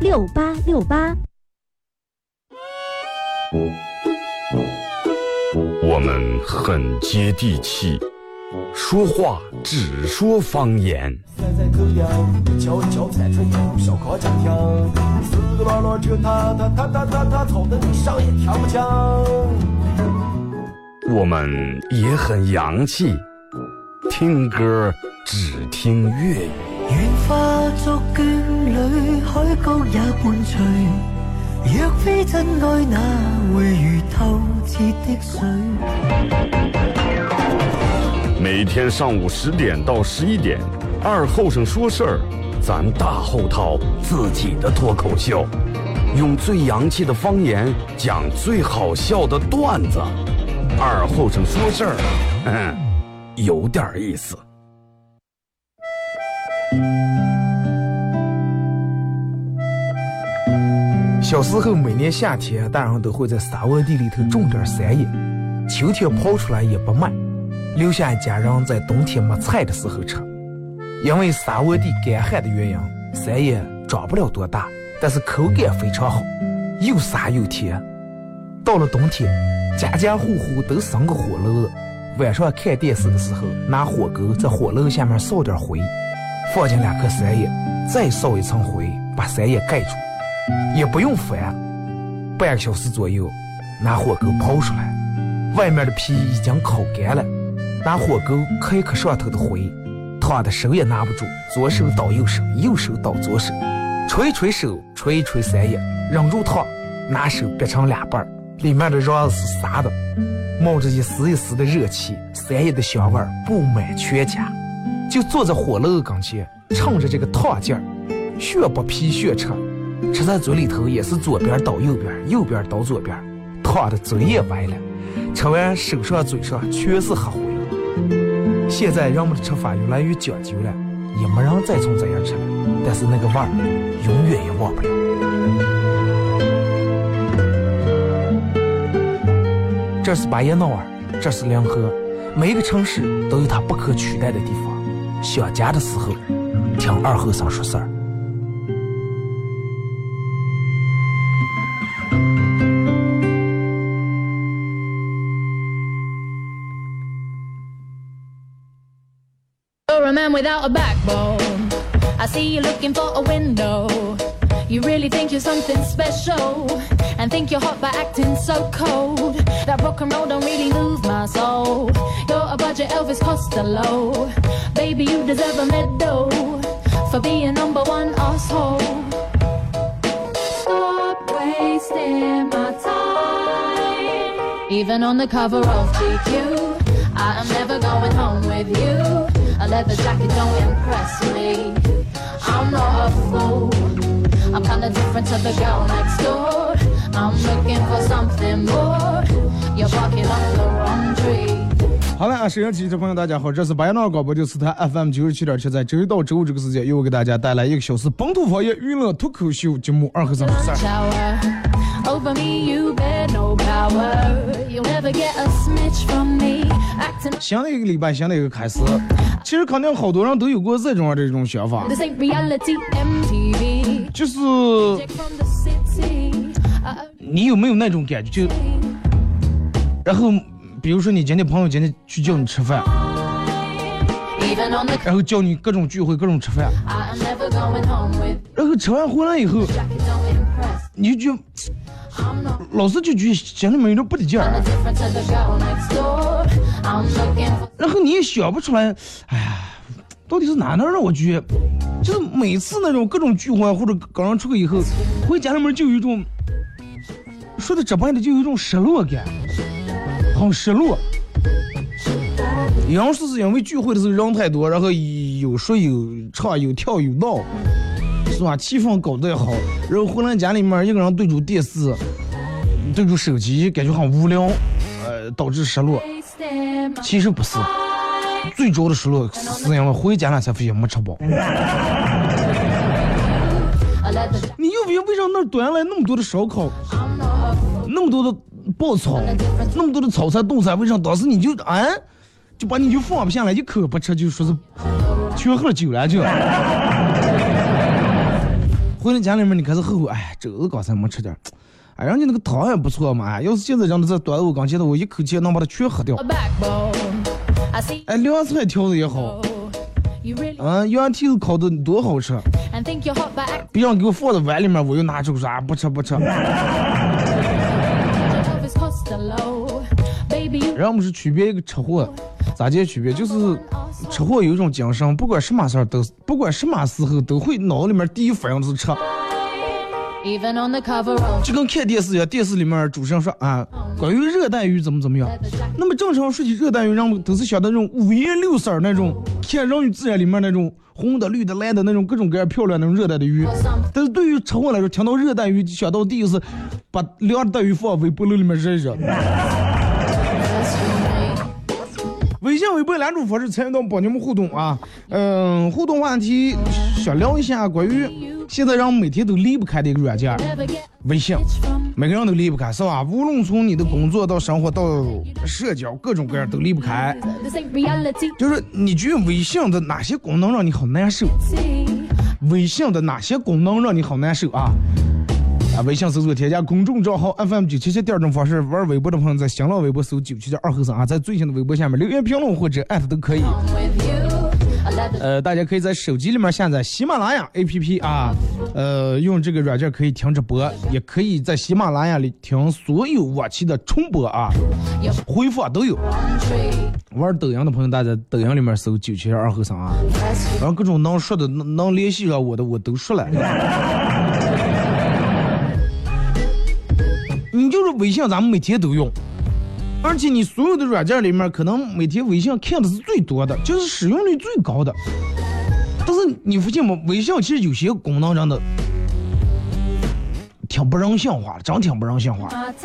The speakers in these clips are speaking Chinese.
6868。 我们很接地气，说话只说方言。我们也很洋气，听歌只听粤语。 愿化作眷侣，海角也伴随。若非真爱，哪會如透徹的水？ 每天上午10點到11點，二後生說事兒，咱大後套自己的脫口秀，用最洋氣的方言講最好笑的段子。二後生說事兒，有點意思。 小时候每年夏天，大人都会在沙窝地里头种点山野，秋天刨出来也不卖，留下一家人在冬天没菜的时候吃。因为沙窝地干旱的原因，山野长不了多大，但是口感非常好，又沙又甜。到了冬天，家家户户都生个火炉子，晚上看电视的时候，拿火钩在火炉下面烧点灰，放进2颗山野，再烧一层灰，把山野盖住。也不用翻，半个小时左右，拿火钩刨出来，外面的皮已经烤干了，拿火钩磕一磕上头的灰，烫的手也拿不住，左手倒右手，右手倒左手，捶捶手，捶一捶山野，忍住烫，拿手掰成2半，里面的瓤子是沙的，冒着一丝一丝的热气，山野的香味布满全家。就坐在火炉跟前，趁着这个烫劲儿，学剥皮学吃。吃在嘴里头也是左边倒右边，右边倒左边，烫的嘴也歪了，吃完手上嘴上全是黑灰。现在人们的吃法越来越讲究了，也没人再从这样吃了，但是那个味儿永远也忘不了。这是巴彦淖尔，这是临河，每一个城市都有它不可取代的地方。想家的时候，听二后生说事儿。 You're a man without a backbone. I see you looking for a window. You really think you're something special and think you're hot by acting so cold. That rock and roll don't really move my soul. You're a budget Elvis Costello. Baby, you deserve a medal for being #1 asshole. Stop wasting my time. Even on the cover of GQ, I am never going home with you. A leather jacket don't impress me. I'm not a fool. I'm kinda different to the girl next door. I'm looking for something more. You're barking up the wrong tree. 好了啊，沈阳体育朋友大家好，这是巴彦淖尔广播电视台 FM 97.7，在周一到周五这个时间，又给大家带来1个小时本土方言娱乐脱口秀节目二和三说事儿。 Over me, you bear no power. You'll never get a smidge from me. 新的一个礼拜，新的一个开始。其实肯定好多人都有过这种想法，就是你有没有那种感觉？就然后比如说你朋友今天去叫你吃饭，然后叫你各种聚会各种吃饭，然后吃完回来以后，你就觉老是就觉得心里面有点不得劲儿，然后你也想不出来，哎呀，到底是哪让我觉得，就是每次那种各种聚会或者刚刚出去以后，回家里面就有一种，说的直白的就有一种失落感，很失落。有人说是因为聚会的时候人太多，然后有说有唱有跳有闹，是吧？气氛搞得也好，然后回来家里面一个人对住电视，对住手机，感觉很无聊，导致失落。其实不是，最主要的失落是因为回家了才发现没吃饱。你又为啥那端来那么多的烧烤，那么多的爆炒，那么多的炒菜冻菜，为啥当时你就就把你就放不下来，一口不吃就说是全喝了酒了就。 回到家里面你开始后悔，哎，这个刚才没吃点，哎，人家那个汤也不错嘛，哎，要是现在让他再端到我刚前的，我一口气能把它全喝掉。哎，凉菜调的也好，羊蹄子烤的多好吃，别让给我放在碗里面，我又拿出说啊不吃。然后我们是区别一个车祸，咋介区别？就是车祸有一种精神，不管什么事儿都，不管什么时候都会脑里面第一反应就是吃。就跟看电视一样，电视里面主持人说啊，关于热带鱼怎么样。那么正常说起热带鱼，让都是想到那种五颜六色那种，看人与自然里面那种红的、绿的、蓝的那种各种各样漂亮那种热带的鱼。但是对于车祸来说，听到热带鱼，想到第一是把凉带鱼放微波炉里面热一热。微信、微博两种方式参与到帮你们互动啊，互动话题想聊一下关于现在让每天都离不开的一个软件，微信，每个人都离不开，是吧？无论从你的工作到生活到社交，各种各样都离不开。就是你觉得微信的哪些功能让你好难受？微信的哪些功能让你好难受啊？微信搜索添加公众账号 FM977，第二种方式，玩微博的朋友在新浪微博搜977.2后3啊，在最新的微博下面留言评论或者艾特都可以。大家可以在手机里面下载喜马拉雅 APP 啊，用这个软件可以听直播，也可以在喜马拉雅里听所有往期的重播啊，回放都有。玩抖音的朋友，大家抖音里面搜977.2后3啊，然后各种能说的、能联系上我的，我都说了。你就是微信，咱们每天都用，而且你所有的软件里面，可能每天微信看的是最多的，就是使用率最高的。但是你发现吗？微信其实有些功能真的挺不人性化的，真挺不人性化。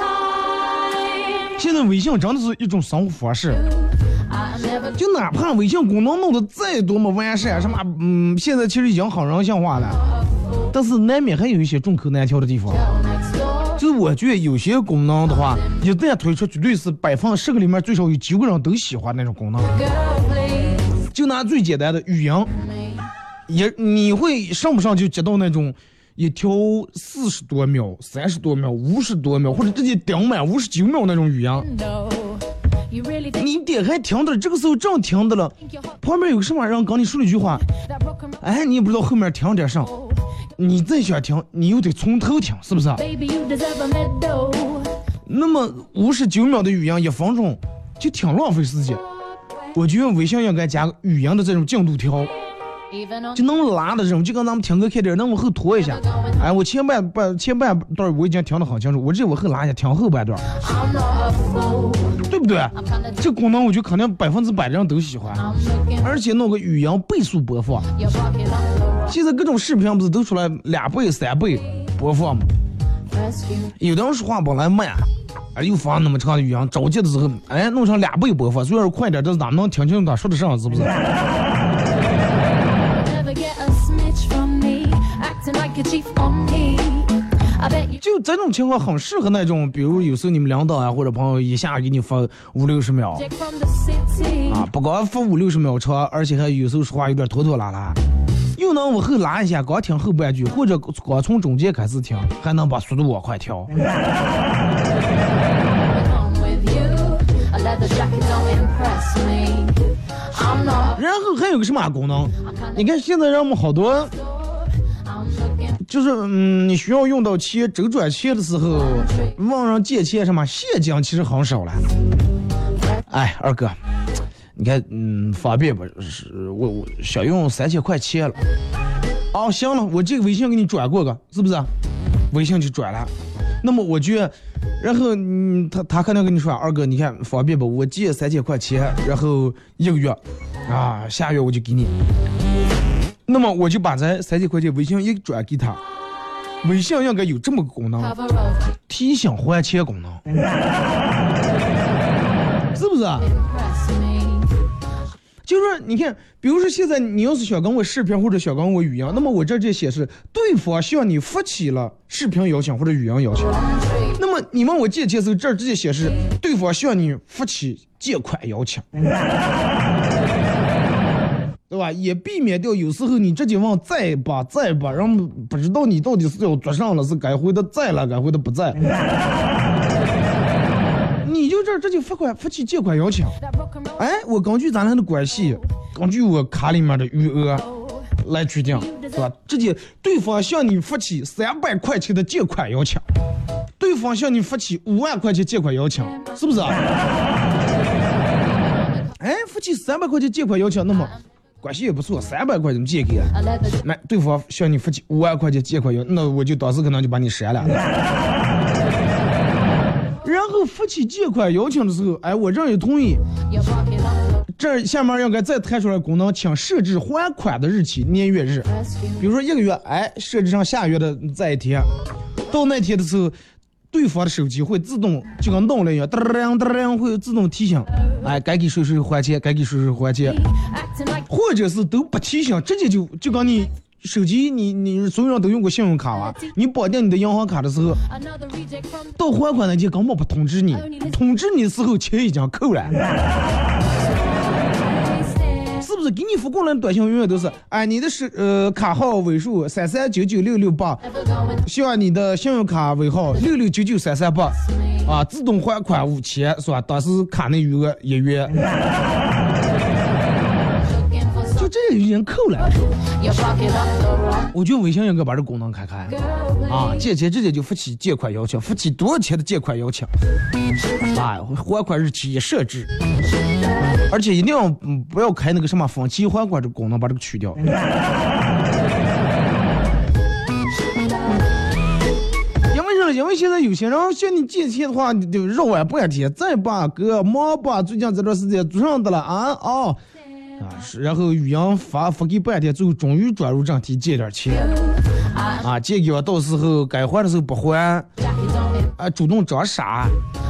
现在微信真的是一种生活方式，就哪怕微信功能弄得再多么完善，什么现在其实已经很人性化了，但是难免还有一些众口难调的地方。就是我觉得有些功能的话，一旦推出，绝对是10%个里面最少有9个人都喜欢那种功能。就拿最简单的语音，你会上不上就接到那种一条40多秒、30多秒、50多秒，或者直接顶满59秒那种语音。你点开听的，这个时候正听的了，旁边有个什么人跟你说了一句话，哎，你也不知道后面听点啥。你再想听，你又得从头听，是不是？那么59秒的语音1分钟，就挺浪费时间。我觉得微信应该加语音的这种进度条，就能拉的这种，就跟咱们听歌看电影能往后拖一下。哎，我前半段我已经听得很清楚，我这往后拉一下，听后半段，对不对？这功能我觉得肯定100%的人都喜欢，而且弄个语音倍速播放。现在各种视频不是都出来2倍、3倍播放吗？有的人说话本来慢，又放那么长的语音，着急的时候，哎，弄成2倍播放，虽然快点，但是咱们能听清楚他说的啥，是不是？就这种情况很适合那种，比如有时候你们领导啊或者朋友一下给你发50-60秒啊，不光发50-60秒长，而且还有时候说话有点拖拖拉拉，又能往后拉一下，光听后半句，或者光从中间开始听，还能把速度往快调。然后还有个什么功能？你看现在让我们好多，就是你需要用到钱周转钱的时候，往上借钱什么现金其实很少了。哎，二哥，你看方便吧？我想用3000块钱了。哦，行了，我这个微信给你转过个，是不是？微信就转了。那么我觉得，然后他可能跟你说，二哥，你看方便吧？我借3000块钱，然后1个月，啊，下月我就给你。那么我就把这3000块钱微信一转给他，微信应该有这么个功能，提醒还钱功能，是不是？就是你看，比如说现在你要是想跟我视频或者想跟我语音，那么我这显示对方向你发起了视频邀请或者语音邀请，那么你问我借钱的时候，这儿直接显示对方向你发起借款邀请， 对吧？也避免掉有时候你直接往再吧，然后不知道你到底是要做上了，是该回的在了，该回的不在。你就这直接发起借款邀请，哎，我根据咱俩的关系，根据我卡里面的余额来决定，对吧？直接对方向你发起300块钱的借款邀请，对方向你发起5万块钱借款邀请，是不是啊？哎，发起300块钱借款邀请，那么关系也不错，300块钱借给了，那对方向你发起5万块钱借款邀，那我就当时可能就把你删了。然后发起借款邀请的时候，哎，我这也同意。这下面应该再弹出来功能，请设置还款的日期、年月日。比如说1个月，哎，设置上下月的这一天，到那天的时候，对方的手机会自动就跟动了一样，噔会自动提醒，哎，该给谁还钱，该给谁还钱，或者是都不提醒，直接就跟你。手机你所有人都用过信用卡啊，你绑定你的银行卡的时候，到还款那天根本不通知你，通知你的时候钱已经扣了，是不是？给你发过来的短信永远都是，哎，你的卡号尾数33996668，希望你的信用卡尾号6699338，啊，自动还款5000，是吧？当时卡内余额1元。就这已经扣了，我觉得微信应该把这功能开啊，借钱直接就发起借款邀请，发起多少钱的借款邀请，啊，还款日期也设置，而且一定要不要开那个什么分期还款这个功能，把这个去掉。因为现在有些人向你借钱的话，你就绕半天，再把哥忙吧，最近这段时间做上的了啊哦。然后语音发给半天，最后终于转入正题，借点钱啊，借给我，到时候该还的时候不还，啊，主动装傻，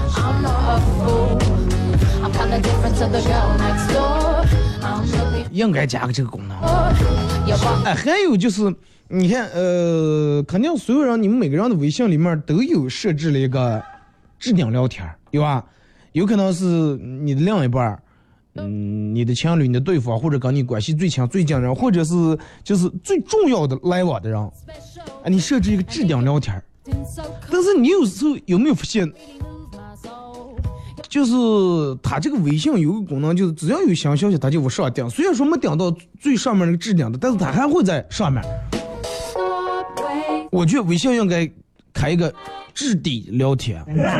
应该加个这个功能。哎，还有就是，你看，肯定所有人，你们每个人的微信里面都有设置了一个置顶聊天，有吧？有可能是你的另一半。你的情侣、你的对方，或者跟你关系最强、最近的人，或者是就是最重要的来往的人，哎，你设置一个置顶聊天，但是你有时候有没有发现，就是他这个微信有个功能，就是只要有新消息，他就往上顶，虽然说没顶到最上面那个置顶的，但是他还会在上面。我觉得微信应该开一个置底聊天。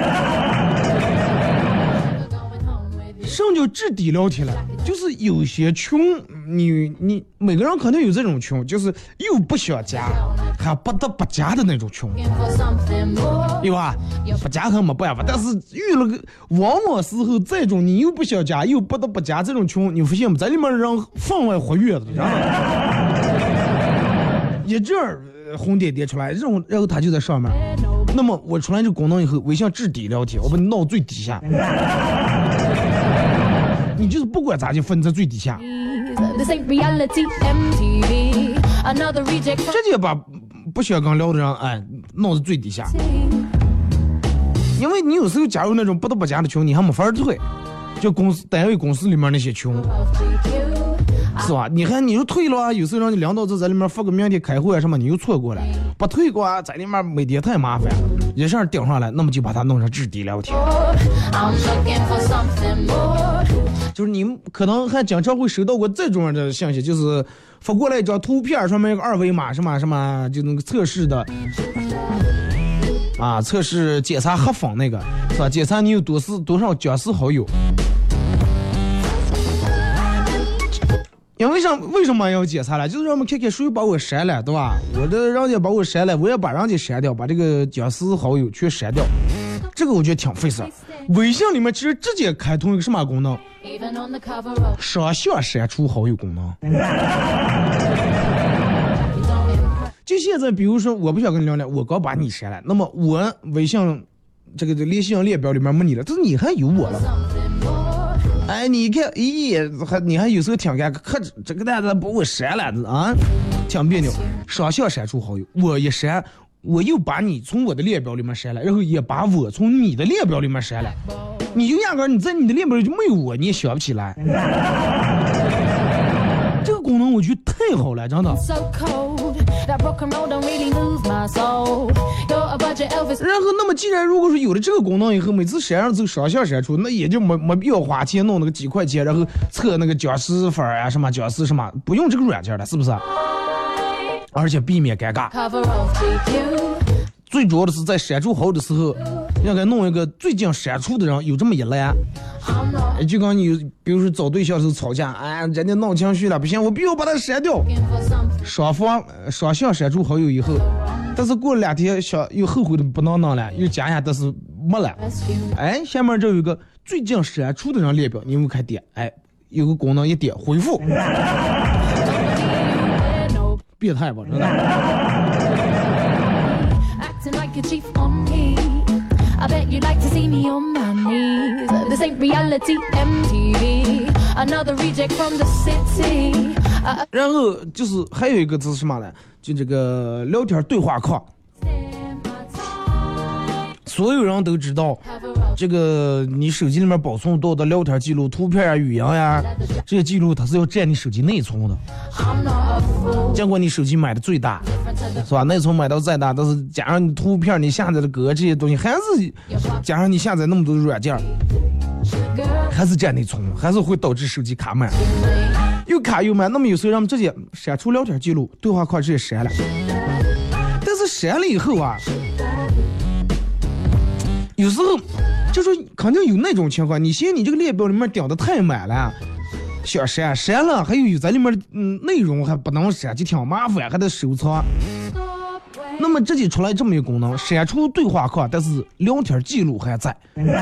什么叫置底聊天了？就是有些群，你每个人可能有这种群，就是又不想加，还不得不加的那种群，对吧？不加还没办法，但是遇了个往往时候这种你又不想加又不得不加这种群，你发现没？在里面让分外活跃的，然后一阵红点点出来，然后他就在上面。那么我出来这功能以后，微信置底聊天，我把你闹最底下。你就是不管咋就分在最底下，直接把不想跟聊的人哎弄在最底下，因为你有时候加入那种不得不加的群，你还没法退，就单位公司里面那些群，是吧？你看你又退了啊，有时候让你领导在里面发个明天开会啊什么，你又错过了，不退过啊，在里面每天太麻烦，一下顶上来，那么就把它弄成置底聊天。就是你们可能还经常会收到过这种的信息，就是发过来一张图片，上面有个2维码什么什么，就那个测试的啊，测试检查黑粉那个是吧？检查你有多少僵尸好友。因为为什么要检查了？就是让我们看看谁把我删了，对吧？我的人家把我删了，我也把人家删掉，把这个僵尸好友全删掉。这个我觉得挺费事。微信里面其实直接开通一个什么功能？双向删除好友功能。就现在，比如说我不想跟你聊聊，我刚把你删了，那么我微信这个联系列表里面没你了，但是你还有我了。哎，你看，咦，你还有时候挺尴尬，可这个蛋子把我删了啊，挺别扭。双向删除好友，我一删，我又把你从我的列表里面删了，然后也把我从你的列表里面删了，你就压根你在你的列表里就没有我，你也想不起来。这个功能我觉得太好了，真的。 So cold, that broken road don't really move my soul. You're a budget Elvis. 然后，那么既然如果说有了这个功能以后，每次闪上走双向闪出，那也就没必要花钱弄那个几块钱，然后测那个僵尸粉啊什么僵尸什么，不用这个软件了，是不是？而且避免尴尬。 Cover of GQ. 最主要的是在闪出好的时候，应该弄一个最近闪出的人有这么一栏。 I'm not 就刚你比如说找对象的时候吵架，哎，人家闹情绪了，不行，我必须要把他删掉。 looking for something 双方双向删除好友以后，但是过了2天想又后悔的不能弄了，又加一下，但是没了。 rescue. 哎，下面这有一个最近删除的人列表，你们可以点，哎，有个功能一点回复， No 变态吧，真的。 acting like a chief on me. I bet you'd like to see me on my knees. This ain't reality MTV. Another reject from the city. 然后就是还有一个是什么呢？就这个聊天对话框， Stand my time. 所有人都知道。 Cover of 这个你手机里面保存多的聊天记录、图片啊、语音呀、这些记录，它是要占你手机内存的。 I'm not a fool. 尽管你手机买的最大， Different to the 是吧？内存买到再大，但是加上你图片、你下载的歌这些东西，还是加上你下载那么多的软件， girl. 还是占内存，还是会导致手机卡满，又卡又满。那么有时候让我们直接删除聊天记录、对话框直接删了。但是删了以后啊，有时候就说肯定有那种情况，你嫌你这个列表里面顶的太满了，想删了，还有在里面内容还不能删，就挺麻烦，还得收藏。 Stop when 那么直接出来这么一个功能，删除对话框，但是聊天记录还在。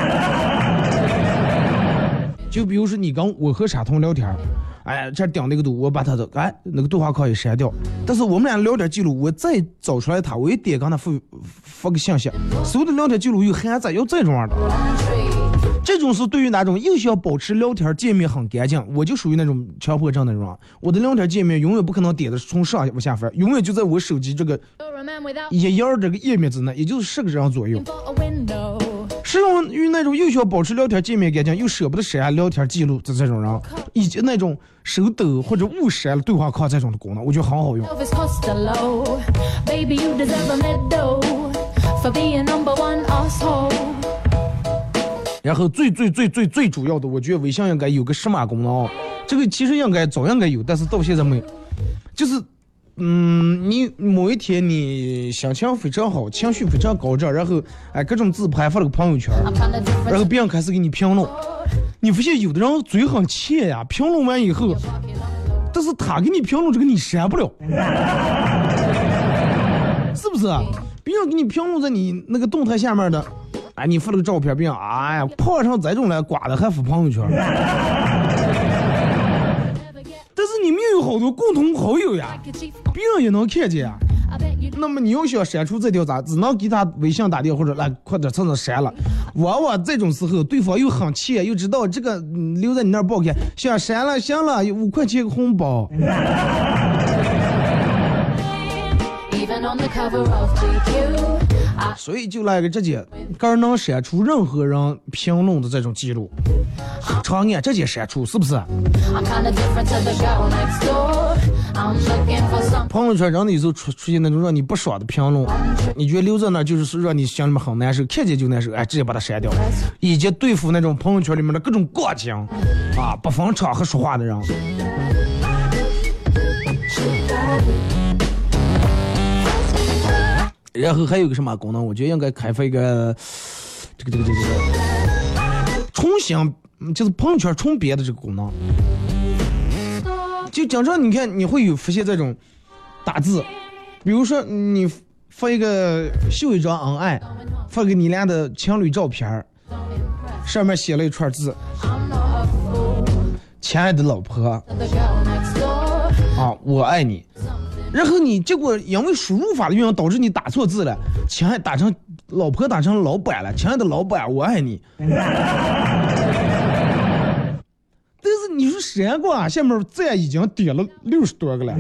就比如说你跟我和傻彤聊天，哎，这顶那个堵，我把他的那个对话框也删掉，但是我们俩聊天记录我再找出来他，我一点刚他发个信息，所有的聊天记录又还在，要这种样的。 tree. 这种是对于那种又想保持聊天界面很干净，我就属于那种强迫症那种。我的聊天界面永远不可能点的从上往下翻，永远就在我手机这个 You're a man without 一页这个页面之内，也就是10个人左右。 for a window. 适用于那种又想保持聊天界面干净，又舍不得删聊天记录的这种人，以及那种手抖或者误删了对话框这种的功能，我觉得很好用。 Elvis Costello. Baby, you deserve a medal for being number one asshole. 然后最主要的，我觉得微信应该有个什么功能，这个其实早应该有，但是到现在没有。就是，你某一天你心情非常好，情绪非常高涨，然后各种自拍发了个朋友圈， I'm kinda 然后 different. 别人开始给你评论，你发现有的人嘴很欠呀，评论完以后，但是他给你评论这个你删不了，是不是啊？别人给你评论在你那个动态下面的。哎，你发了个照片，别人哎呀，碰上这种来刮的还发朋友圈，但是你们有好多共同好友呀， Like a chief. 别人也能看见呀。 I bet you 那么你要想删除这条咋，只能给他微信打电话或者来快点趁着删了。往往这种时候，对方又很气，又知道这个留在你那儿不好看，想删了，行了，有5块钱个红包。 even on the cover of GQ. I 所以就来个直接，个能删除任何人评论的这种记录，长按直接删除，是不是？ I'm kinda different to the girl next door. I'm looking for some 朋友圈真的有时候出现那种让你不爽的评论，你觉得留在那儿就是让你心里面很难受，看见就难受，哎，直接把它删掉，以及对付那种朋友圈里面的各种过节啊，不分场合说话的人。然后还有个什么功能？我觉得应该开发一个这个重新，就是朋友圈重别的这个功能。就经常你看你会有发现这种打字，比如说你发一个秀一张恩爱，发给你俩的情侣照片，上面写了一串字： I'm not a fool. 亲爱的老婆 The girl next door. 啊，我爱你。然后你结果因为输入法的原因导致你打错字了，亲爱打成老婆打成老板了，亲爱的老板我爱你。但是你说删过啊，下面赞已经点了60多个了，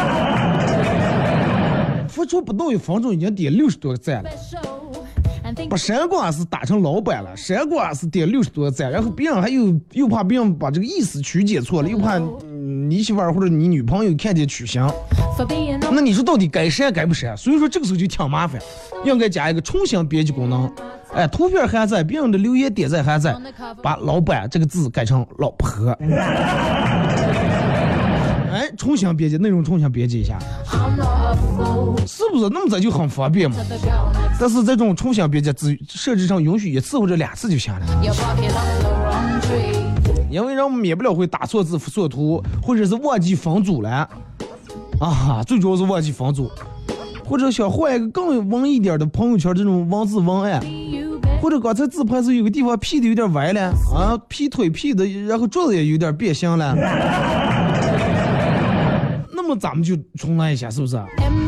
发出不到1分钟已经点60多个赞了。 And think 不删过是打成老板了，删过是点60多个赞，然后别人还又怕别人把这个意思曲解错了，又怕你媳妇儿或者你女朋友看见取消，那你说到底该删该不删？所以说这个时候就挺麻烦，应该加一个重新编辑功能。哎，图片还在，别人的留言点赞还在，把老板这个字改成老婆。哎，重新编辑内容，重新编辑一下，是不是？那么咱就很方便嘛。但是这种重新编辑只设置上允许1次或者2次就行了，因为人免不了会打错字、复错图，或者是忘记分组了啊，最主要是忘记分组，或者想换一个更文一点的朋友圈这种文字文案，或者刚才自拍是有个地方 P 的有点歪了啊，P 腿 P 的，然后桌子也有点变形了。那么咱们就重来一下，是不是？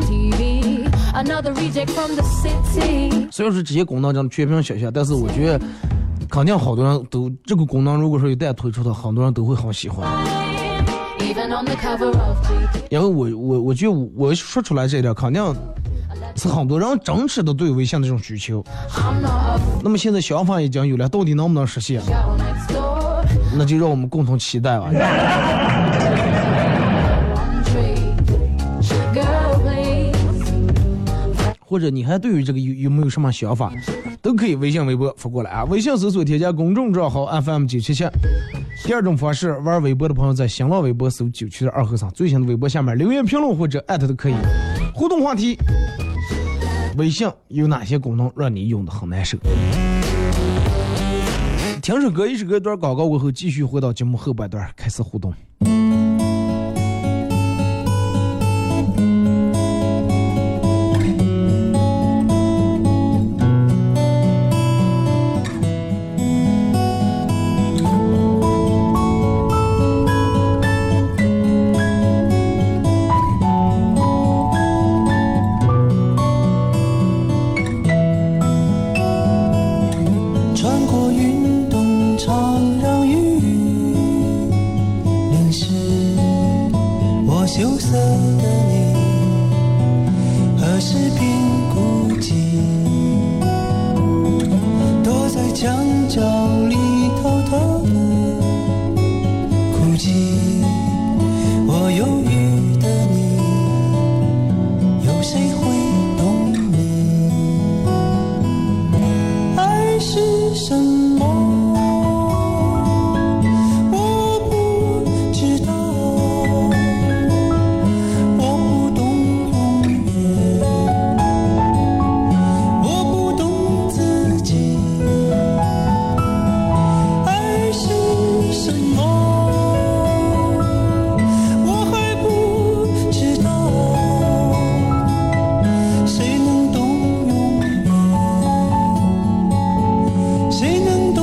虽然说这些功能真的全凭想象，但是我觉得肯定好多人都这个功能，如果说一旦推出的，很多人都会很喜欢。因为我觉得我说出来这一点，肯定是很多人真实的对微信这种需求。那么现在想法已经有了，到底能不能实现？那就让我们共同期待吧。或者你还对于这个有没有什么想法，都可以微信微博发过来啊。微信搜索添加公众账号 FM977。第二种方式，玩微博的朋友在新浪微博搜972和尚，最新的微博下面留言评论或者艾特都可以。互动话题：微信有哪些功能让你用的很难受？听首歌，一首歌一段广告过后，继续回到节目后半段开始互动。 谁能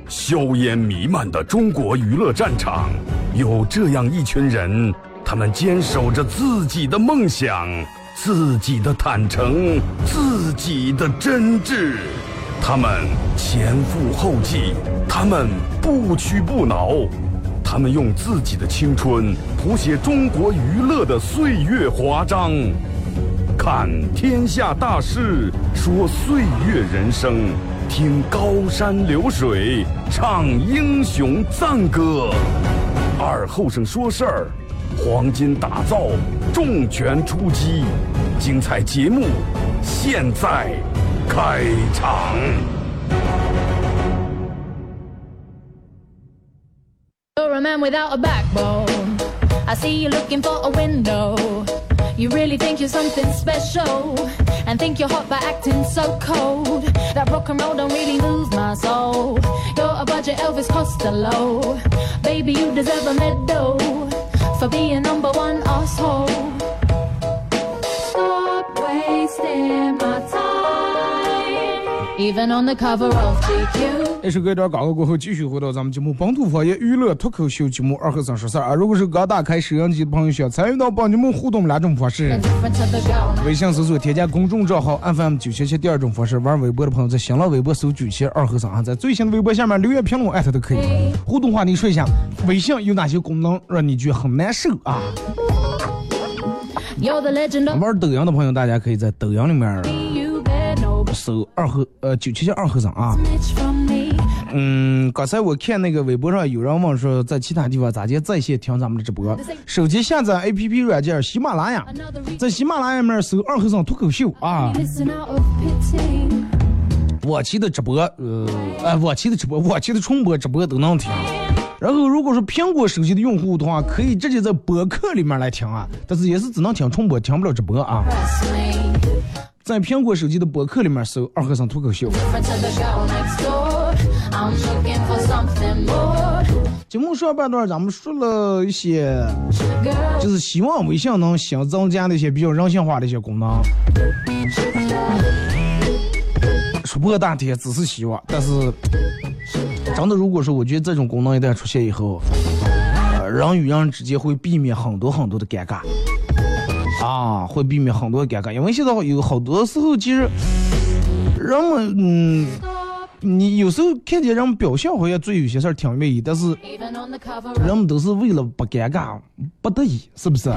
硝烟弥漫的中国娱乐战场，有这样一群人，他们坚守着自己的梦想，自己的坦诚，自己的真挚。他们前赴后继，他们不屈不挠，他们用自己的青春谱写中国娱乐的岁月华章。看天下大事，说岁月人生，听高山流水，唱英雄赞歌。二后生说事儿，黄金打造，重拳出击，精彩节目现在开场。 You're a man without a backbone. I see you looking for a window. You really think you're something special, and think you're hot by acting so cold. That rock and roll don't really move my soul. You're a budget Elvis Costello. Baby, you deserve a medal for being number one asshole. Stop wasting my time, even on the cover of GQ. 这首歌一段广告过后，继续回到咱们节目本土方言娱乐脱口秀节目二和三说事儿啊！如果是刚打开摄像机的朋友，想参与到本节目互动两种方式：微信搜索添加公众账号 FM977，第二种方式玩微博的朋友在新浪微博搜97二和三，在最新的微博下面留言评论艾特都可以。互动话题说一下，微信有哪些功能让你觉得很难受啊？玩抖音的朋友，大家可以在抖音里面搜977二和三啊。刚才我看那个微博上有人问说，在其他地方咋接在线听咱们的直播？手机下载 APP 软件喜马拉雅，在喜马拉雅里面搜二和尚脱口秀啊。我期的直播，我期的重播直播都能听。然后如果是苹果手机的用户的话，可以直接在播客里面来听啊，但是也是只能听重播，听不了直播啊。在苹果手机的播客里面搜二和尚脱口秀。节目上半段咱们说了一些，就是希望微信能新增加的一些比较人性化的一些功能。说破大体只是希望，但是真的如果说我觉得这种功能一旦出现以后，人与人之间会避免很多很多的尴尬啊，会避免很多尴尬，因为现在有好多时候其实人们你有时候看见人们表现好像做有些事儿挺愿意，但是人们都是为了不尴尬不得已，是不是？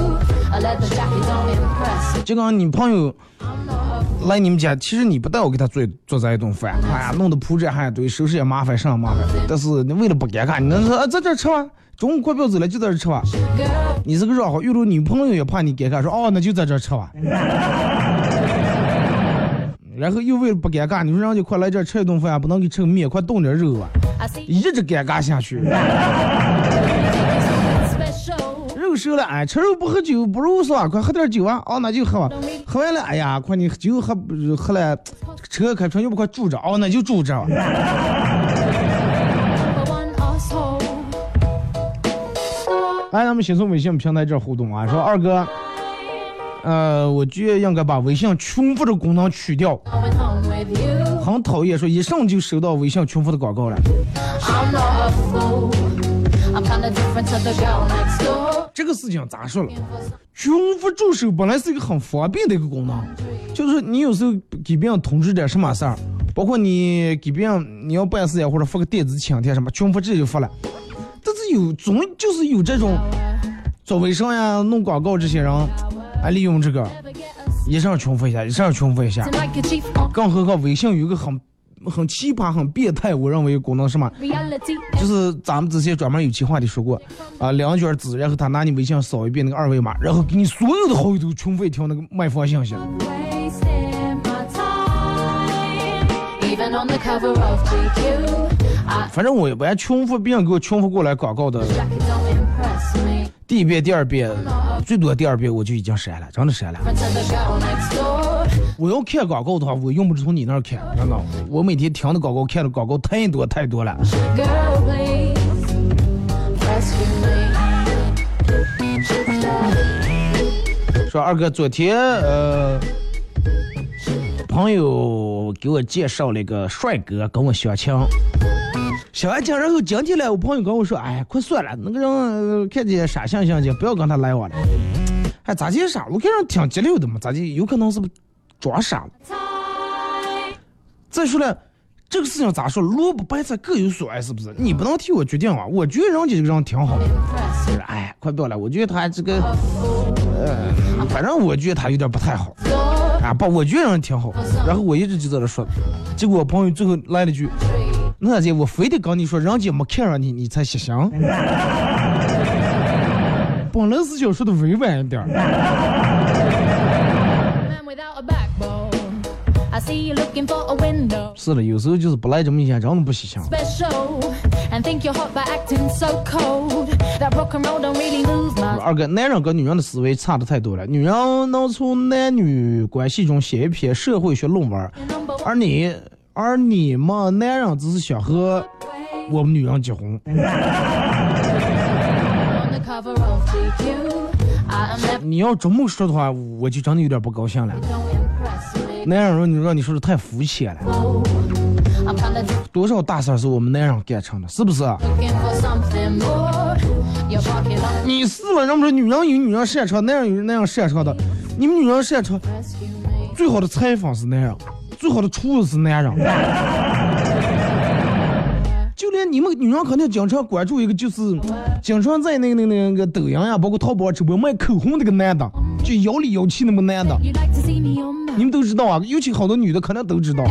就刚你朋友来你们家，其实你不带我给他做这一顿饭，哎呀，弄得铺着还一堆，收拾也麻烦，上麻烦。但是你为了不尴尬，你能说在这吃吧，中午快不要走了，就在这吃吧。你是个绕好，遇到女朋友也怕你尴尬，说哦，那就在这吃吧。然后又为了不尴尬，你说让你快来这吃一顿饭，不能给吃个面，快冻点肉啊，一直尴尬下去。肉熟了，哎，吃肉不喝酒，不如说快喝点酒啊，哦，那就喝吧。喝完了，哎呀，快你酒喝了，车开车又不快住着，哦，那就住着。来，咱们先从微信平台这互动啊，说二哥。我觉得应该把微信重复的功能取掉，很讨厌说一上就收到微信重复的广告了。这个事情咋说了？重复助手本来是一个很方便的一个功能，就是你有时候给别人通知点什么事儿，包括你给别人你要办事呀，或者发个电子请帖什么，重复直接就发了。但是就是有这种做微商呀、弄广告这些人。还利用这个一上重复一下，更何况微信有一个很奇葩、很变态，我认为功能什么，就是咱们之前专门有企划的说过啊，2卷纸，然后他拿你微信扫一遍那个二维码，然后给你所有的好友都重复一条那个卖方信息。反正我也不爱重复别人给我重复过来广告的。第一遍、第二遍，最多第二遍我就已经删了，真的删了。我要看广告的话，我用不着从你那儿看，真的。我每天听的广告、看的广告太多了。说二哥，昨天朋友给我介绍了一个帅哥跟我相亲， 写完讲，然后今天来，我朋友跟我说，哎，快算了，那个人看见傻相的，不要跟他来往了。哎，咋的傻？我看人挺急溜的嘛，咋的？有可能是不是装傻了？再说了，这个事情咋说？萝卜白菜各有所爱，是不是？你不能替我决定啊！我觉得人家这个人挺好的。哎，快不要了，我觉得他这个，反正我觉得他有点不太好。啊，不，我觉得人挺好。然后我一直就在那说，结果我朋友最后来了句。那姐，我非得跟你说，人家没看上你，你才想。本来是想说的委婉一点。是的，有时候就是不来这么一下，真的不细想。二哥，男人跟女人的思维差的太多了。女人能从男女关系中写一篇社会学论文，而你们男人只是想和我们女人结婚。你要这么说的话，我就真的有点不高兴了。男人让你说的太肤浅了，多少大事是我们男人干成的，是不是？你是了，让不说女人有女人擅长，男人有男人擅长的。你们女人擅长，最好的裁缝是男人。最好的厨子是男人，就连你们女人肯定经常关注一个，就是经常在那个抖音呀，包括淘宝直播卖口红那个男的，就摇里摇气那么男的，你们都知道啊，尤其好多女的可能都知道，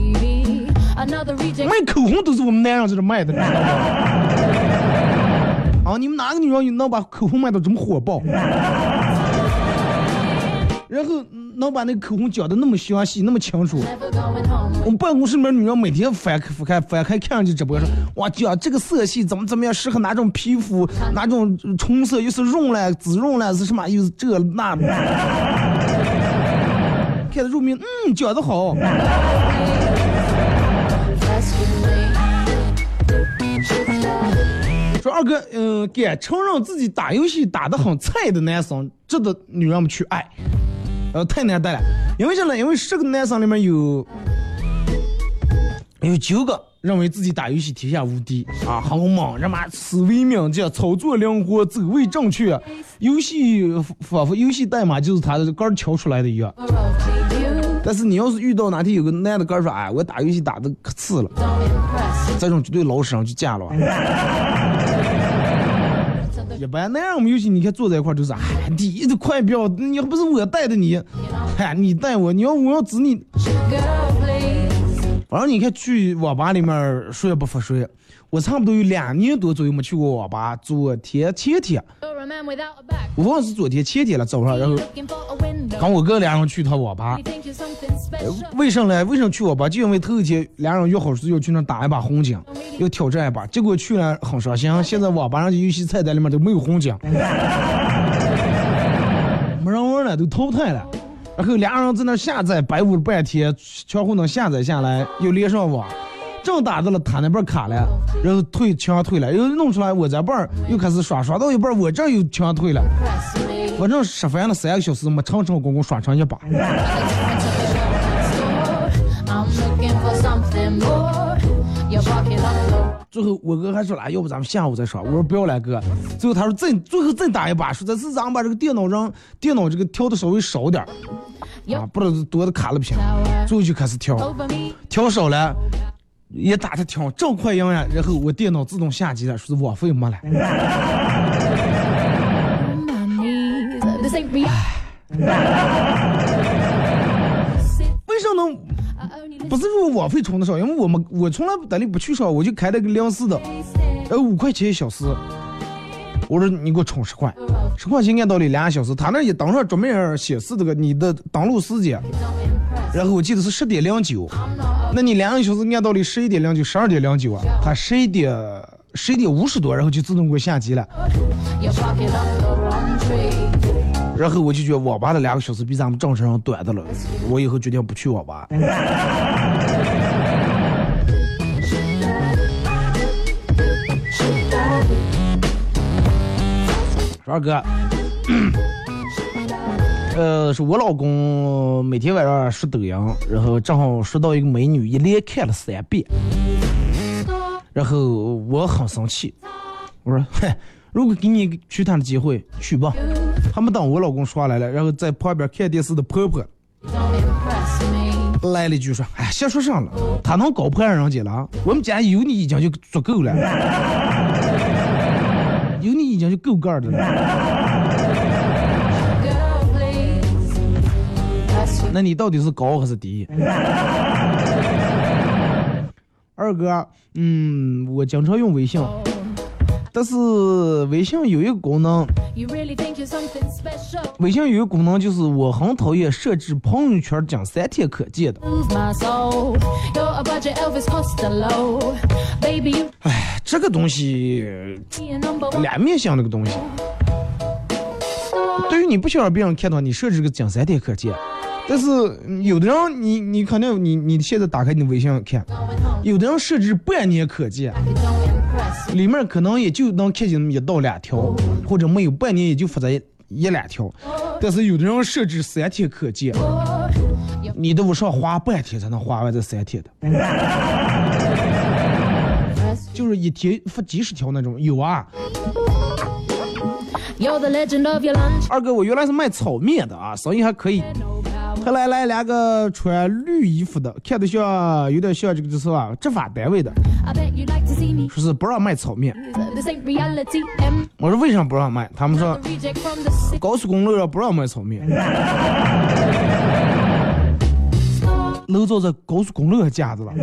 卖口红都是我们男人在这卖的，知道吗？啊，你们哪个女人能把口红卖到这么火爆？然后能把那个口红讲的那么详细那么清楚，我们办公室里面女人每天翻开看上去直播说，哇，讲这个色系怎么样适合哪种皮肤，哪种唇色，又是润了紫润了是什么，又是这那的，看得入迷，讲得好。说二哥，敢承认自己打游戏打得很菜的男生，值得女人们去爱。太难带了，因为什么？因为10个男生里面有9个认为自己打游戏天下无敌啊，很猛，他妈思维敏捷，操作灵活，走位正确，游戏仿佛游戏代码就是他的杆敲出来的一样。但是你要是遇到哪天有个男的杆说，哎，我打游戏打的可次了，这种绝对老实上去嫁了。一般那样我们游戏你看坐在一块都是，哎，你的快标，你要不是我带的你，哎，你带我，我要指你。反正你看去网吧里面说也不服说，我差不多有2年多左右没去过网吧。前天，我忘了是昨天前天了早上，然后跟我哥2人去趟网吧。为什么呢？为什么去网吧？就因为头一天2人约好是要去那打一把红警，要挑战一把，结果去了很伤心。现在网吧上的游戏菜单里面都没有红警，没人玩了，都淘汰了。然后2人在那下载，白捂了半天，全乎能下载下来，又连上网，正打到了他那边卡了，然后枪退了，又弄出来我这边又开始刷到一半，我这又枪退了，我正吃饭了3个小时，没成功共刷成一把。最后我哥还说了，要不咱们下午再刷，我说不要来哥。最后他说最后再打一把，说这次咱们把这个电脑这个调的稍微少点啊，不知道多的卡了屏，最后就开始调少了，也打的挺正快赢呀。然后我电脑自动下机了，说是网费没了。为什么呢？不是说网费充的少，因为我从来在那不去少，我就开了个24的，5块钱1小时。我说你给我充10块，10块钱按道理2小时，他那也当上专门显示这个你的登录时间，然后我记得是10点09，那你2个小时按道理11点09、12点09啊，他11点50多，然后就自动给我下机了。然后我就觉得网吧的2个小时比咱们正常人短的了，我以后决定不去网吧。二哥，是我老公每天晚上刷抖音，然后正好刷到一个美女，一连看了3遍。 然后我很生气，我说嘿，如果给你去他的机会去吧，还没等我老公说来了，然后在旁边看电视的婆婆来了一句说，哎，瞎说上了，他能搞破人家了，我们家有你已经就足够了，有你已经就够干的了。那你到底是高还是低？二哥，我经常用微信，但是微信有一个功能，微信有一个功能就是我很讨厌设置朋友圈讲3天可见的。哎，这个东西两面向那个东西。对于你不想让别人看到你设置个讲3天可见，但是有的人你肯定你现在打开你的微信看，有的人设置半年可见，里面可能也就能看见1到2条，或者没有半年也就发在1-2条，但是有的人设置3天可见，你都不上花半天才能花完这3天的，就是一天发几十条那种有啊。二哥，我原来是卖炒面的啊，生意还可以。后来来2个穿绿衣服的，看得像有点像这个就是吧，执法单位的，说是不让卖炒面。我说为什么不让卖？他们说高速公路上不让卖炒面。楼早在高速公路上架子了。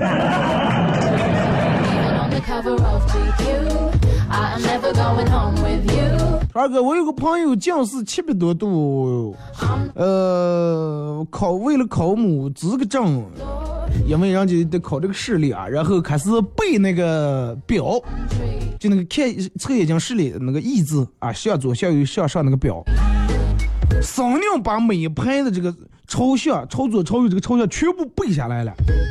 二哥，我有个朋友降是700多度，为了考母资格证，因为人家得考这个视力啊，然后开始背那个表，就那个看测眼睛视力那个义字啊，向左向右向上那个表，商量把每一排的这个朝向、朝左朝右这个朝向全部背下来了，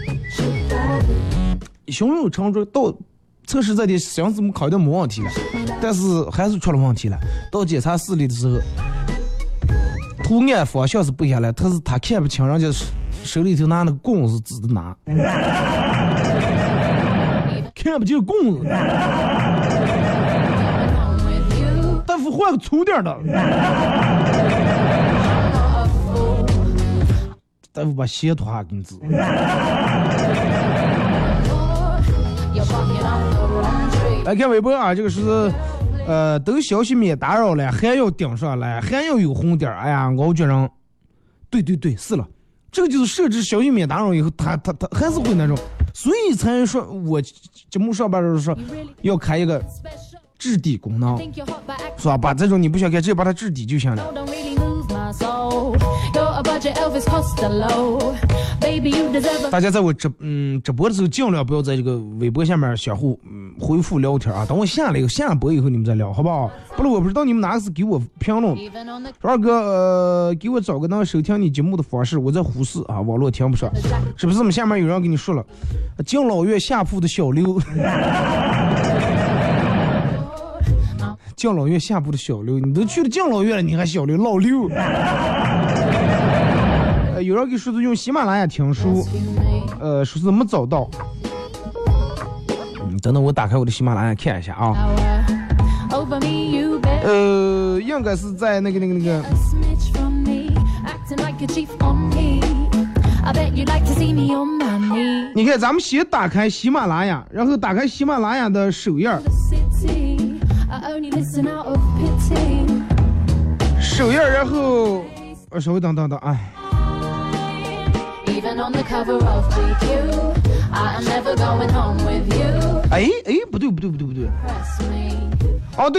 胸有成竹，到测试这点想怎么考的没问题了，但是还是出了问题了。到检查视力的时候，图案方向是背下来，但是他看不清，人家手里头拿那个棍子指的拿，看不见棍子。大夫换个粗点的。大夫把鞋脱下给你指。来看微博啊，这个是都消息免打扰了，还要顶上来，还要有红点，哎呀，我觉得对是了，这个就是设置消息免打扰以后，他还是会那种，所以才说我节目上班的时候说要开一个置顶功能，是吧？把这种你不想开，直接把它置顶就行了。大家在我直播的时候尽量不要在这个微博下面相互回复聊天啊，等我下播以后你们再聊好不好？不然我不知道你们哪个是给我评论。二哥给我找个能收听你节目的方式，我在呼市啊，网络听不上，是不是？我们下面有人跟你说了，敬老院下铺的小刘。敬老院下铺的小刘，你都去了敬老院了，你还小刘老刘？有人给说是用喜马拉雅听书，说是没找到。等等，我打开我的喜马拉雅看一下啊。应该是在那个。你看，咱们先打开喜马拉雅，然后打开喜马拉雅的首页。首页，然后稍微等，哎。哎，不对。哦，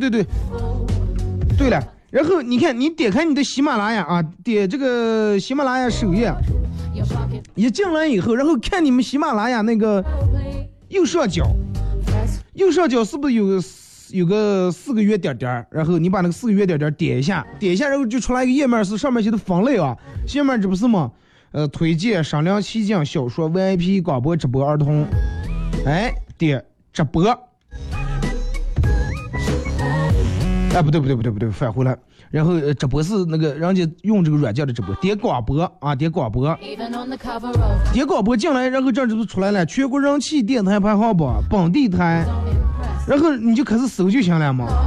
对了，然后你看，你点开你的喜马拉雅啊，点这个喜马拉雅首页，一进来以后，然后看你们喜马拉雅那个右上角是不是有个4个圆点点，然后你把那个4个圆点点点一下，然后就出来一个页面，是上面写的分类啊，下面这不是吗？推荐、商量、奇讲、小说、VIP、广播、直播、儿童，哎，点直播， 哎，不对，返回来。然后直播是那个人家用这个软件的直播，点广播啊，点广播进来，然后这就出来了，全国人气电台排行榜本地台，然后你就开始搜就行了嘛。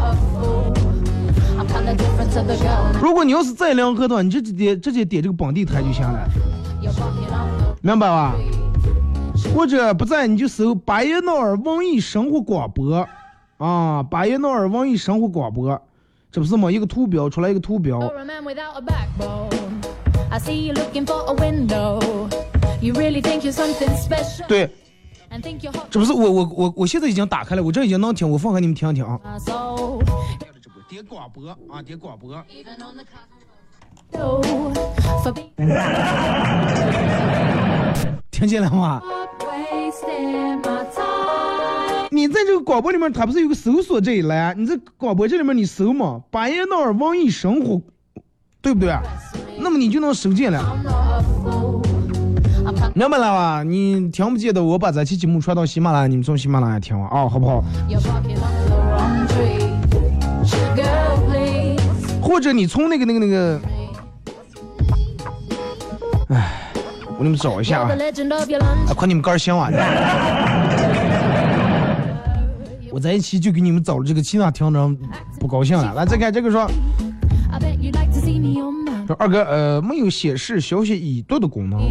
如果你要是在两河的话，你直接点这个本地台就行了，明白吧？或者不在你就搜巴彦淖尔文艺生活广播啊，巴彦淖尔文艺生活广播，这不是吗？一个图标出来一个图标。对，这不是我现在已经打开了，我这已经能听，我放给你们听听啊。点广播啊，点广播。听见了吗？你在这个广播里面，它不是有个搜索这一栏？你在广播这里面你搜嘛，巴彦淖尔文艺生活，对不对？那么你就能收见了。明白了吧？你听不见的，我把这期节目传到喜马拉雅，你们从喜马拉雅听啊，好不好？或者你从那个，哎，我给你们找一下啊，快你们杆儿想完了。我在一起就给你们找了这个其他听众不高兴了。来，再看这个说二哥，没有显示消息已读的功能，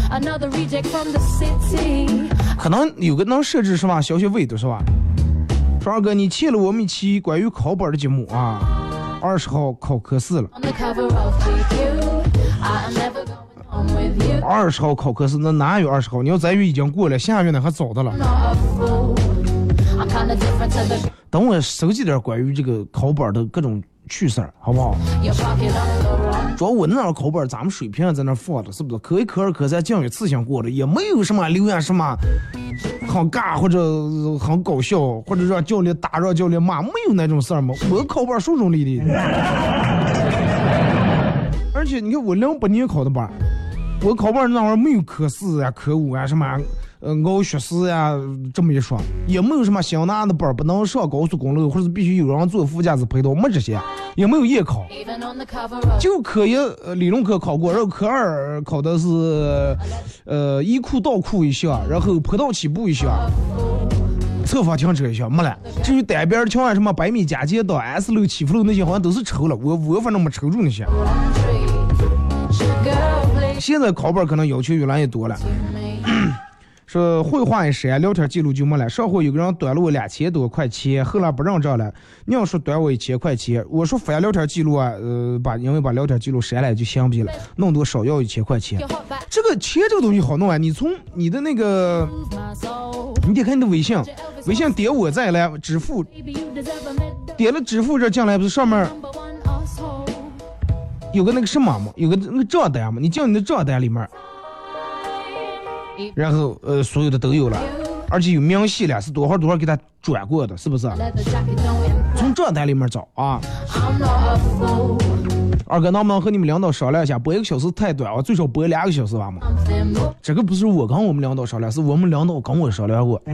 可能有个能设置是吧？消息未读是吧？说二哥，你欠了我们一期关于考本的节目啊，20号考科4了。20号考科4，那哪有20号？你要咱月已经过了，下月呢还早的了。等我收集点关于这个考本的各种趣事儿，好不好？主要我那考本咱们水平在那放着，是不是？科1科2科3降雨次性过的，也没有什么留言什么很尬或者很搞笑，或者让教练打让教练骂，没有那种事儿嘛。我考本书中立的，而且你看我08年考的本，我考本那会儿没有科4呀、科5呀什么熬学士呀这么一说，也没有什么想拿的本不能上高速公路，或者必须有人坐副驾驶陪同，没这些，也没有夜考，就科1理论课考过，然后科2考的是一库倒库一项，然后坡道起步一项，侧方停车一项没了。至于单边桥啊什么100米加减道 S 路起伏路那些好像都是抽了，我反正没抽住那些。现在考本可能要求越来越多了。说绘画一删，聊天记录就没了。上回有个人短了我2000多块钱，后来不认账了。你要说短我1000块钱，我说翻聊天记录啊，因为把聊天记录删了就相比了，弄多少要1000块钱。这个钱这个东西好弄啊，你从你的那个，你得看你的微信点我再来支付，点了支付这进来不是上面有个那个什么嘛，有个那个账单嘛，你进你的账单里面。然后所有的都有了，而且有明细了，是多少给他转过的，是不是？从账单里面找啊。二哥，能不能和你们领导商量一下，播1个小时太短，我最少播2个小时吧嘛？这个不是我跟我们领导商量，是我们领导跟我商量过。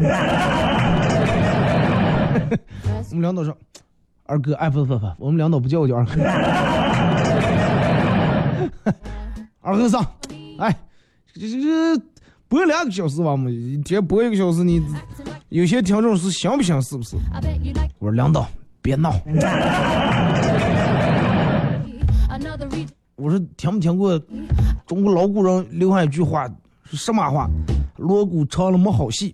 我们领导说，二哥，哎不，我们领导不叫我叫二哥。二哥上，哎，这。播2个小时吧嘛，一天播1个小时，你有些听众是想不想是不是？我说领导别闹。我说听没听过中国老古人留下一句话是什么话？锣鼓唱了没好戏。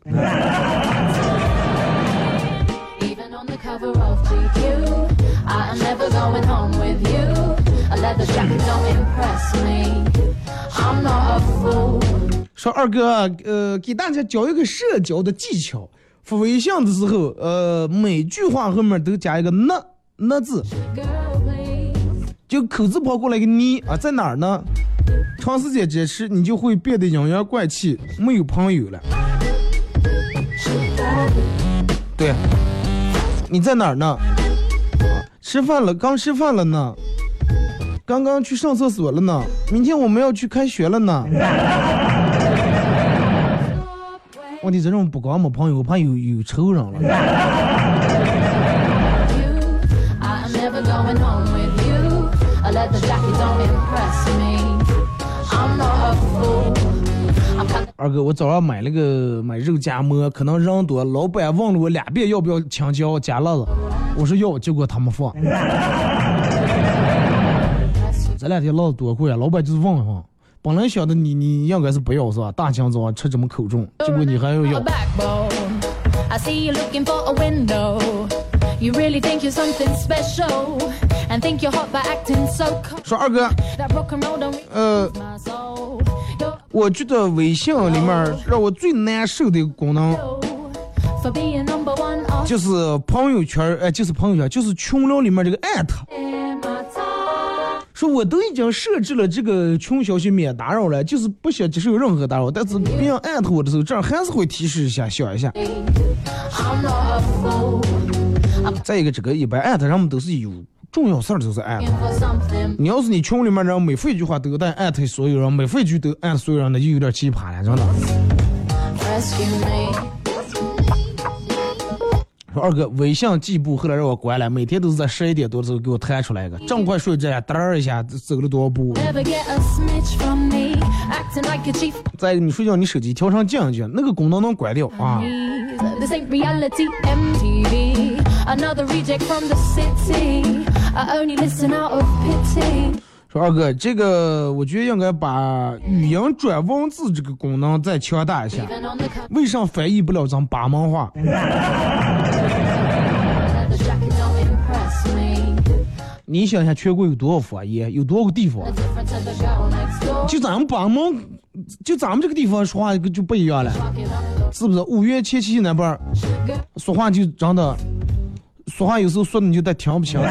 说二哥，给大家教一个社交的技巧。发微信的时候，每句话后面都加一个那字，就口字旁过来一个你啊，在哪儿呢？长时间坚持，你就会变得阴阳怪气，没有朋友了。对，你在哪儿呢？吃饭了，刚吃饭了呢。刚刚去上厕所了呢。明天我们要去开学了呢。问题这种不光没朋友，我怕有仇人了。 going home with you. A leather jacket don't impress me. I'm not a fool. 二哥，我早上买肉夹馍，可能人多，老板问了我2遍要不要青椒加辣子，我说要，结果他们放。这2天辣子多贵啊，老板就是问一问。本来想的你应该是不要是吧？大清早吃这么口重，结果你还要要。 I see you looking for a window. You really think you're something special and think you're hot by acting so cold. 说二哥，我觉得微信里面让我最难受的一个功能，就是朋友圈，就是群聊里面这个艾特。说我都已经设置了这个群消息免打扰了，就是不想接受任何打扰，但是别人艾特我的时候，这样还是会提示一下，想一下。再一个，这个一般艾特人们都是有重要事儿就是艾特。你要是你群里面人每回一句话都带艾特所有人，每回一句都艾特所有人，那就有点奇葩了，真的。说二哥，微信计步后来让我关了，每天都是在11点多的时候给我弹出来一个，正快睡着，嘚一下走了多少步。再一个，你睡觉你手机调成静音，那个功能能关掉啊。说二哥，这个我觉得应该把语音转文字这个功能再强大一下。为啥翻译不了咱巴门话？你想想，全国有多少方言，有多少个地方？就咱们巴门，就咱们这个地方说话就不一样了，是不是？五岳七七那边说话就真的，说话有时候说的你就得听不清。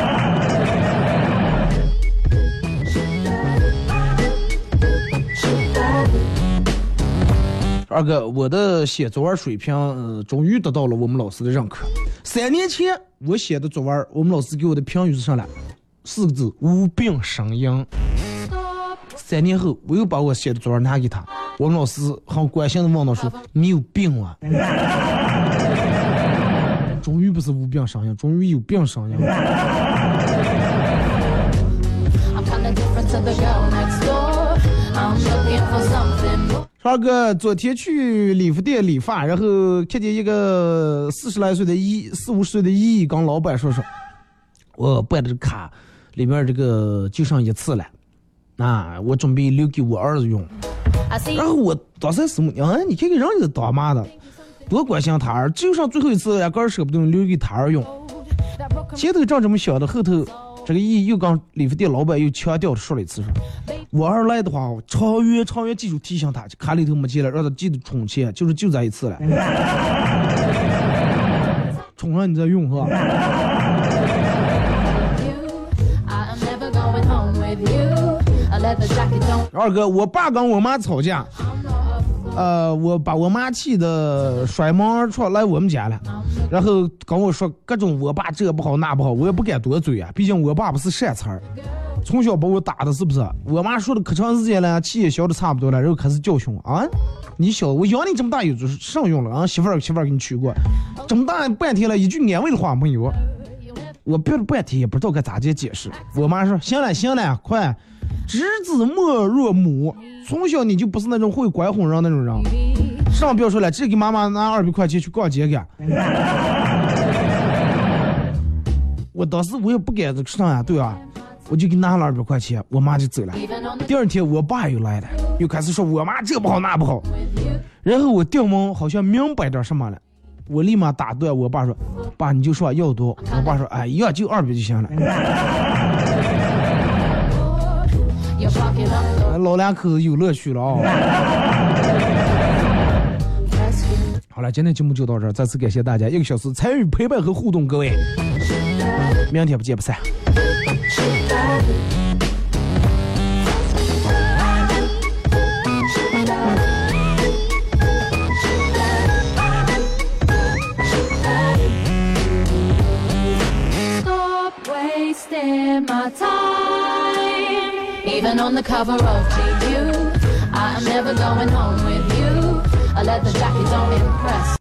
二哥，我的写作文水平终于得到了我们老师的认可。3年前我写的作文，我们老师给我的评语是上来4个字：无病呻吟。3年后，我又把我写的作文拿给他，我们老师很关心的问到说：“你有病啊？”终于不是无病呻吟，终于有病呻吟。二哥，昨天去理发店理发，然后看见一个40来岁的40-50岁的姨跟老板说，我办的卡里面这个就剩1次了，我准备留给我儿子用。然后我当时什么你看看人家当妈的多关心他儿，就剩最后一次压根舍不得留给他儿用。前头正这么想的，后头这个姨又跟理发店老板又强调说了一次，说我儿来的话，长远记住提醒他，卡里头没钱了，让他记得充钱，就这一次了。充上你再用是吧？二哥，我爸跟我妈吵架，我把我妈气得摔门而出来我们家了，然后跟我说各种我爸这不好那不好，我也不敢多嘴啊，毕竟我爸不是善茬儿，从小把我打的是不是？我妈说的可长时间了，气也消的差不多了，然后开始教训啊，你小我养你这么大有上用了啊，媳妇儿给你娶过，这么大半天了，一句安慰的话没有，我憋了半天也不知道该咋解释。我妈说行了，快，知子莫若母，从小你就不是那种会拐哄人那种人。上不要说了，这给妈妈拿200块钱去逛街去。我当时我也不敢上呀，对吧？我就给拿了200块钱，我妈就走了。第2天我爸又来了，又开始说我妈这不好那不好。然后我掉毛好像明白点什么了，我立马打断我爸说：“爸，你就说要多。”我爸说：“哎呀，就200就行了。”老两口子有乐趣了啊！好了，今天节目就到这儿，再次感谢大家1个小时参与陪伴和互动，各位，明天不见不散。 Even on the cover of GQ, I am never going home with you. A leather jacket don't impress.